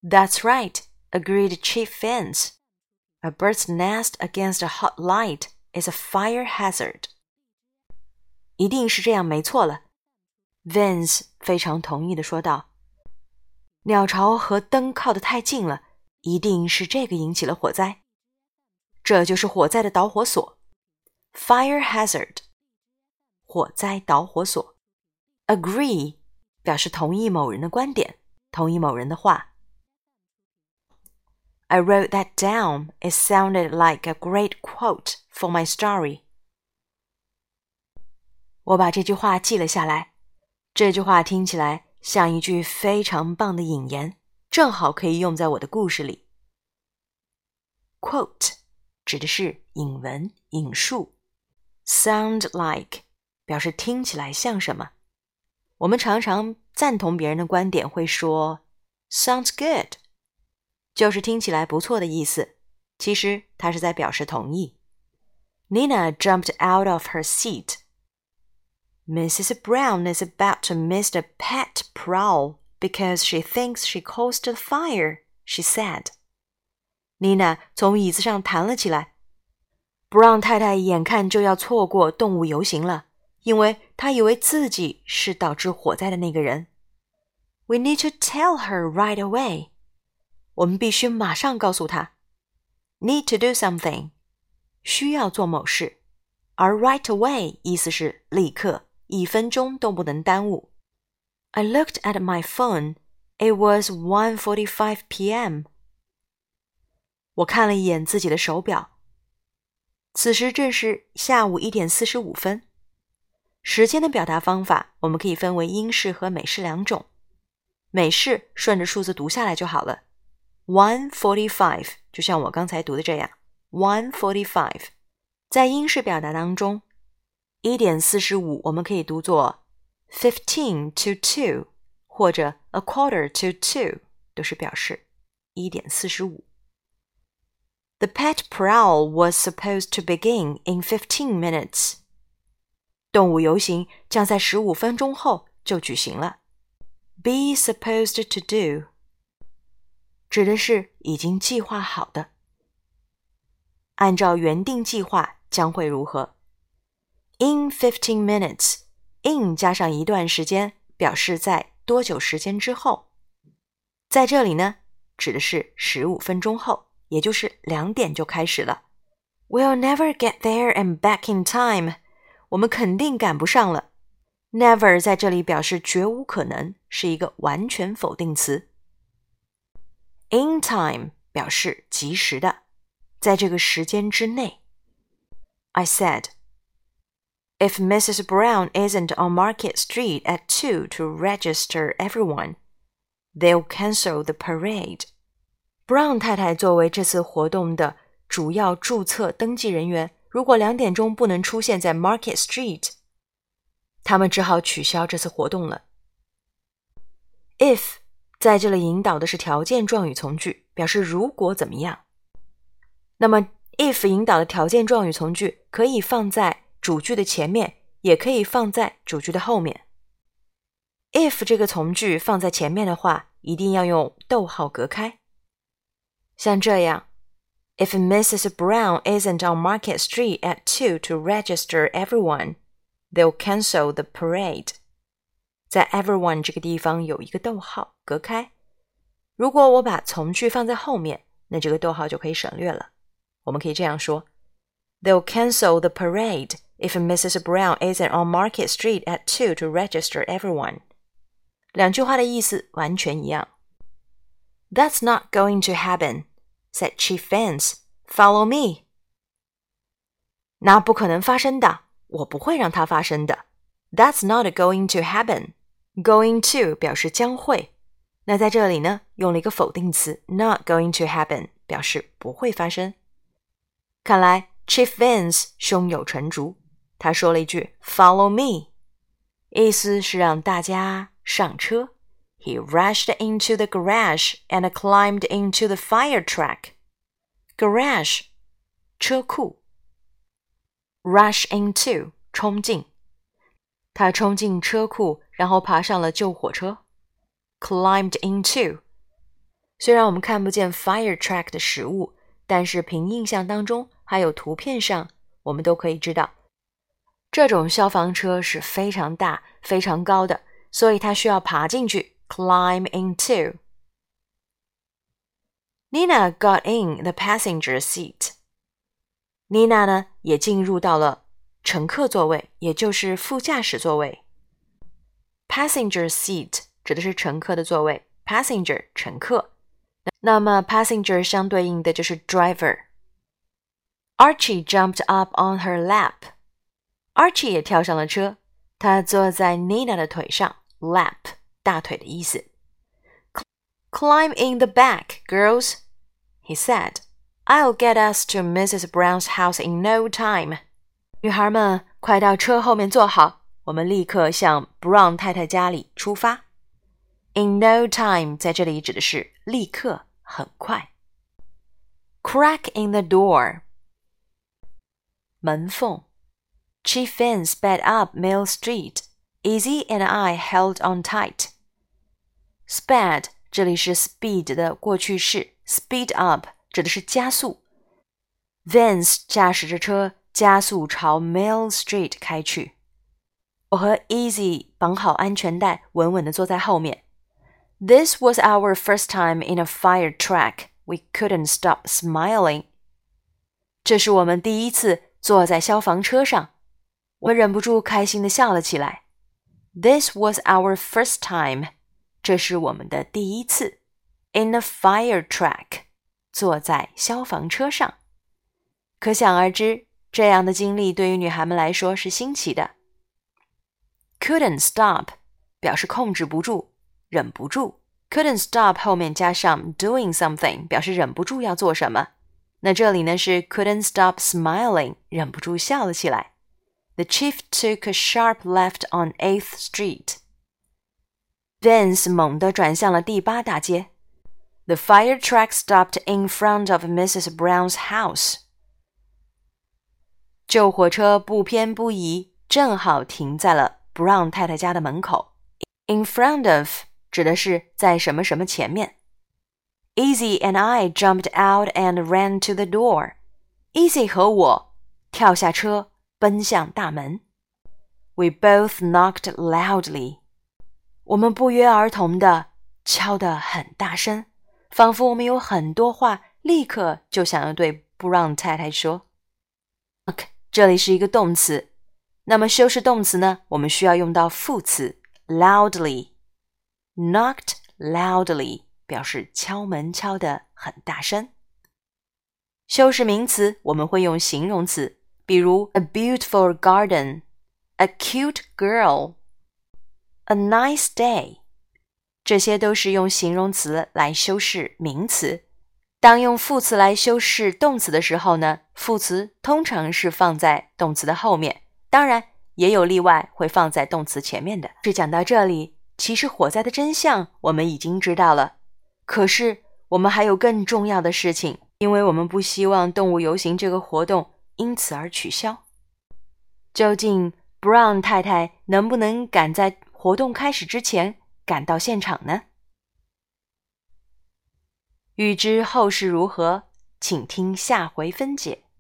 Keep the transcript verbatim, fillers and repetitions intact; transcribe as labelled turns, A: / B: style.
A: That's right, agreed Chief Vince. A bird's nest against a hot light is a fire hazard. 一定是这样没错了 Vince 非常同意地说道。鸟巢和灯靠得太近了，一定是这个引起了火灾。这就是火灾的导火索 Fire hazard 火灾导火索 Agree 表示同意某人的观点，同意某人的话。I wrote that down. It sounded like a great quote for my story. 我把这句话记了下来，这句话听起来像一句非常棒的引言，正好可以用在我的故事里。Quote 指的是引文、引述。Sound like 表示听起来像什么。我们常常赞同别人的观点会说 Sounds good 就是听起来不错的意思，其实它是在表示同意。Nina jumped out of her seat. Missus Brown is about to miss the pet prowl because she thinks she caused the fire, she said. Nina 从椅子上弹了起来。Brown 太太眼看就要错过动物游行了，因为她以为自己是导致火灾的那个人。We need to tell her right away. 我们必须马上告诉她。Need to do something. 需要做某事。而 right away 意思是立刻，一分钟都不能耽误。I looked at my phone. It was one forty-five p m 我看了一眼自己的手表，此时正是下午一点四十五分。时间的表达方法我们可以分为英式和美式两种。美式顺着数字读下来就好了。one forty-five 就像我刚才读的这样 one forty-five。 在英式表达当中，一点四十五我们可以读作 fifteen to two 或者 a quarter to two 都是表示一点四十五。The pet prowl was supposed to begin in fifteen minutes. 动物游行将在十五分钟后就举行了。Be supposed to do 指的是已经计划好的。按照原定计划将会如何 ？In fifteen minutes, in 加上一段时间，表示在多久时间之后。在这里呢，指的是十五分钟后。也就是两点就开始了。We'll never get there and back in time. 我们肯定赶不上了。Never 在这里表示绝无可能，是一个完全否定词。In time 表示及时的，在这个时间之内。I said, If Missus Brown isn't on Market Street at two to register everyone, they'll cancel the parade.Brown 太太作为这次活动的主要注册登记人员，如果两点钟不能出现在 Market Street， 他们只好取消这次活动了。If 在这里引导的是条件状语从句，表示如果怎么样。那么 if 引导的条件状语从句可以放在主句的前面，也可以放在主句的后面。if 这个从句放在前面的话，一定要用逗号隔开。像这样 If Missus Brown isn't on Market Street at two to register everyone, they'll cancel the parade. 在 everyone 这个地方有一个逗号隔开。如果我把从句放在后面，那这个逗号就可以省略了。我们可以这样说 They'll cancel the parade if Missus Brown isn't on Market Street at two to register everyone. 两句话的意思完全一样。That's not going to happen.Said Chief Vince, follow me. 那不可能发生的，我不会让它发生的。That's not going to happen. Going to 表示将会。那在这里呢，用了一个否定词 not going to happen 表示不会发生。看来 Chief Vince 胸有成竹，他说了一句 follow me， 意思是让大家上车。He rushed into the garage and climbed into the fire truck. Garage, 车库。Rush into, 冲进。他冲进车库，然后爬上了救火车。Climbed into. 虽然我们看不见 fire truck 的实物，但是凭印象当中还有图片上，我们都可以知道，这种消防车是非常大、非常高的，所以它需要爬进去 climb into. Nina got in the passenger seat. Nina 呢也进入到了乘客座位，也就是副驾驶座位。Passenger seat 指的是乘客的座位， passenger 乘客。那么 passenger 相对应的就是 driver. Archie jumped up on her lap. Archie 也跳上了车，他坐在 Nina 的腿上， lap 大腿的意思。Climb in the back, girls, he said. I'll get us to Missus Brown's house in no time. 女孩们，快到车后面坐好，我们立刻向 Brown 太太家里出发。In no time 在这里指的是立刻，很快。Crack in the door. 门缝。Chief Vin sped up Mill Street. Izzy and I held on tight. Sped 这里是 speed 的过去式， speed up 指的是加速。Vince 驾驶着车加速朝 Mill Street 开去。我和 Izzy 绑好安全带，稳稳地坐在后面。This was our first time in a fire truck. We couldn't stop smiling. 这是我们第一次坐在消防车上，我们忍不住开心地笑了起来。This was our first time. 这是我们的第一次 in a fire truck. 坐在消防车上。可想而知，这样的经历对于女孩们来说是新奇的。Couldn't stop 表示控制不住，忍不住。Couldn't stop 后面加上 doing something 表示忍不住要做什么。那这里呢是 couldn't stop smiling 忍不住笑了起来。The chief took a sharp left on eighth Street. Vince 猛地转向了第八大街。The fire truck stopped in front of Missus Brown's house. 救火车不偏不倚，正好停在了 Brown 太太家的门口。In front of 指的是在什么什么前面。Izzy and I jumped out and ran to the door. Izzy 和我跳下车，奔向大门。We both knocked loudly. 我们不约而同地敲得很大声，仿佛我们有很多话立刻就想要对 Brown 太太说。Knock 这里是一个动词，那么修饰动词呢，我们需要用到副词 loudly。Knocked loudly 表示敲门敲得很大声。修饰名词我们会用形容词，比如 a beautiful garden, a cute girl, a nice day. 这些都是用形容词来修饰名词。当用副词来修饰动词的时候呢，副词通常是放在动词的后面，当然也有例外会放在动词前面的。是讲到这里，其实火灾的真相我们已经知道了，可是我们还有更重要的事情，因为我们不希望动物游行这个活动因此而取消。究竟 Brown 太太能不能赶在活动开始之前赶到现场呢？欲知后事如何，请听下回分解。